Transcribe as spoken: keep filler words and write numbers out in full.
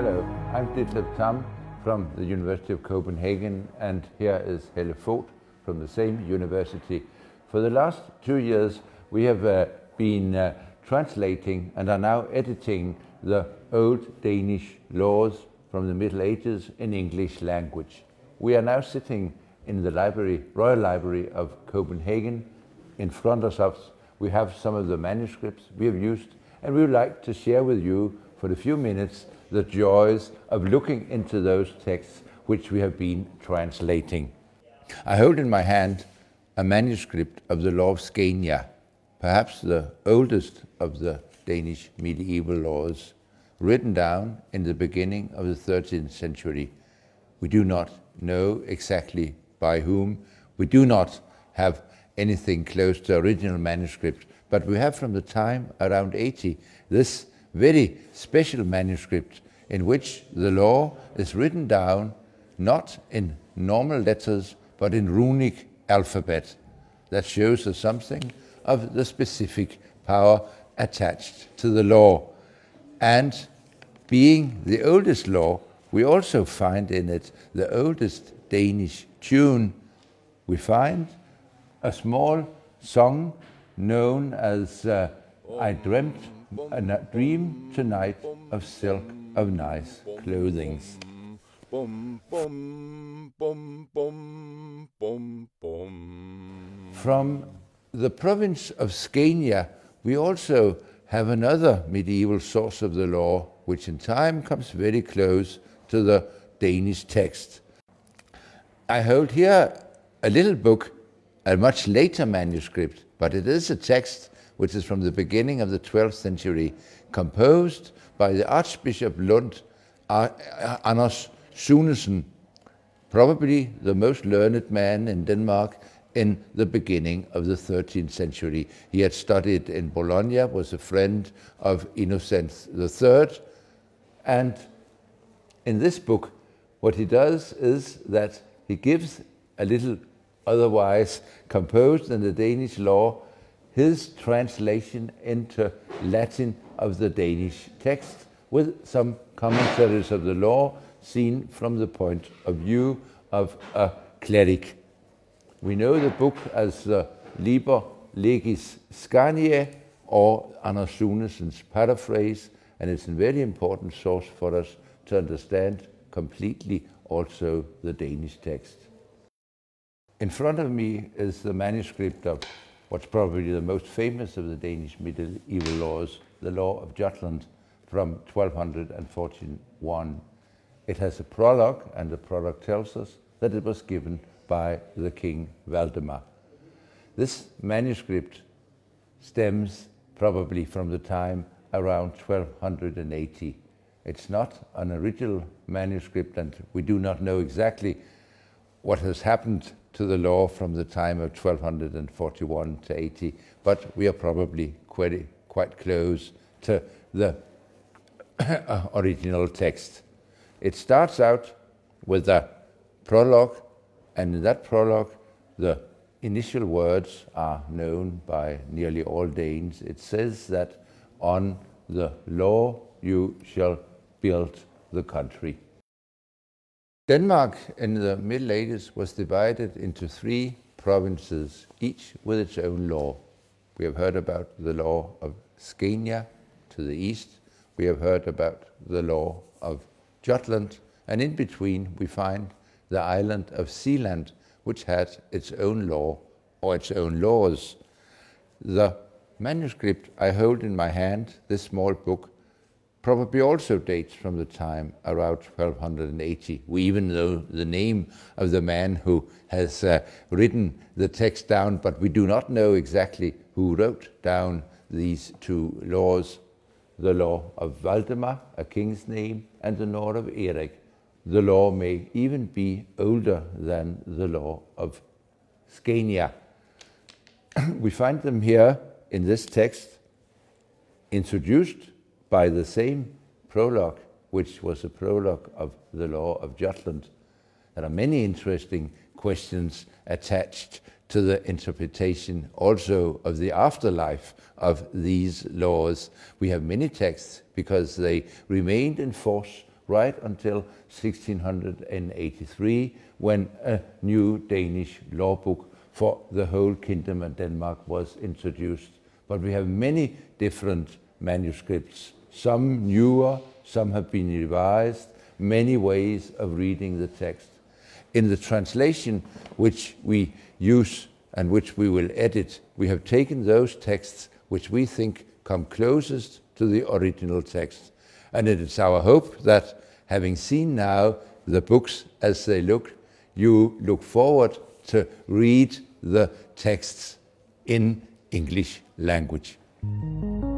Hello, I'm Ditlev Tam from the University of Copenhagen, and here is Helle Vogt from the same university. For the last two years, we have uh, been uh, translating and are now editing the old Danish laws from the Middle Ages in English language. We are now sitting in the library, Royal Library of Copenhagen. In front of us, we have some of the manuscripts we have used, and we would like to share with you for a few minutes the joys of looking into those texts which we have been translating. I hold in my hand a manuscript of the Law of Scania, perhaps the oldest of the Danish medieval laws, written down in the beginning of the thirteenth century. We do not know exactly by whom. We do not have anything close to original manuscript, but we have from the time around eighty this very special manuscript in which the law is written down not in normal letters but in runic alphabet. That shows us something of the specific power attached to the law. And being the oldest law, we also find in it the oldest Danish tune. We find a small song known as uh, I Dreamt a Dream Tonight of Silk of Nice Clothing. From the province of Scania, we also have another medieval source of the law, which in time comes very close to the Danish text. I hold here a little book, a much later manuscript, but it is a text which is from the beginning of the twelfth century, composed by the Archbishop Lund, Anders Sunesen, probably the most learned man in Denmark in the beginning of the thirteenth century. He had studied in Bologna, was a friend of Innocent the Third, and in this book, what he does is that he gives a little otherwise composed in the Danish law his translation into Latin of the Danish text with some commentaries of the law seen from the point of view of a cleric. We know the book as the Liber Legis Scaniae, or Anders Sunesen's paraphrase, and it's a very important source for us to understand completely also the Danish text. In front of me is the manuscript of what's probably the most famous of the Danish medieval laws, the Law of Jutland from twelve forty-one. It has a prologue, and the prologue tells us that it was given by the King Valdemar. This manuscript stems probably from the time around twelve eighty. It's not an original manuscript, and we do not know exactly what has happened to the law from the time of twelve forty-one to eighty, but we are probably quite, quite close to the original text. It starts out with a prologue, and in that prologue the initial words are known by nearly all Danes. It says that on the law you shall build the country. Denmark in the Middle Ages was divided into three provinces, each with its own law. We have heard about the law of Scania to the east. We have heard about the law of Jutland, and in between we find the island of Sealand, which had its own law or its own laws. The manuscript I hold in my hand, this small book, probably also dates from the time around twelve eighty. We even know the name of the man who has uh, written the text down, but we do not know exactly who wrote down these two laws. The law of Valdemar, a king's name, and the law of Erik. The law may even be older than the law of Scania. We find them here in this text, introduced by the same prologue, which was a prologue of the law of Jutland. There are many interesting questions attached to the interpretation also of the afterlife of these laws. We have many texts because they remained in force right until sixteen eighty-three, when a new Danish law book for the whole kingdom of Denmark was introduced. But we have many different manuscripts, some newer, some have been revised, many ways of reading the text. In the translation which we use and which we will edit, we have taken those texts which we think come closest to the original text. And it is our hope that, having seen now the books as they look, you look forward to read the texts in English language.